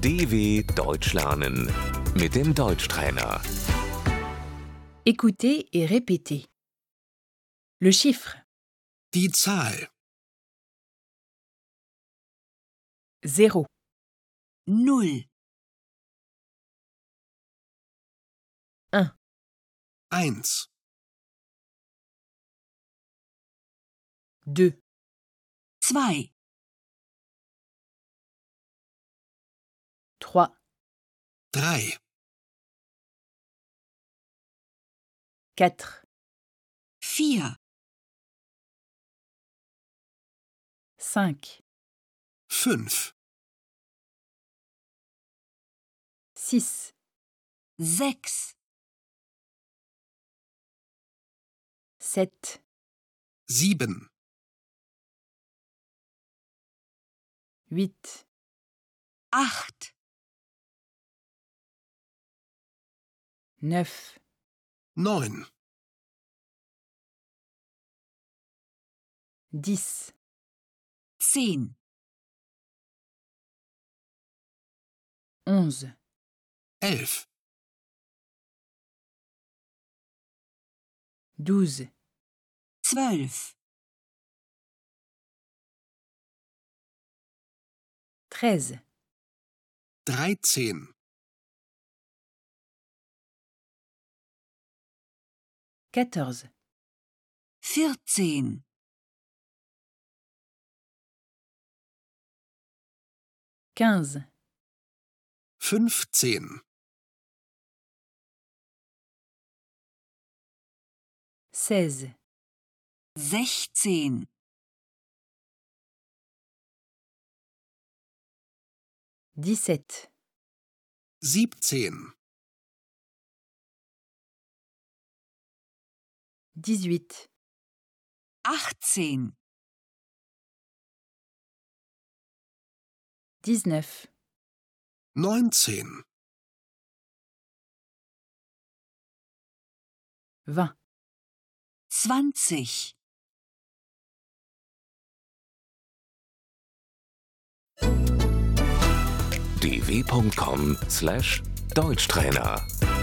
DW Deutsch lernen mit dem Deutschtrainer. Écoutez et répétez. Le chiffre Die Zahl 0, 0, 1, 1, 2, 2, 3, 3, 4, 4, 5, 5, 6, 6, 7, 7, 8, 8, 9, 9, 10, 10, 11, 11, 12, 12, 13, 13, 14, 14, 15, 15, 16, 16, 17, 17, 18, 18, 19, 19, 20, 20. dw.com/Deutschtrainer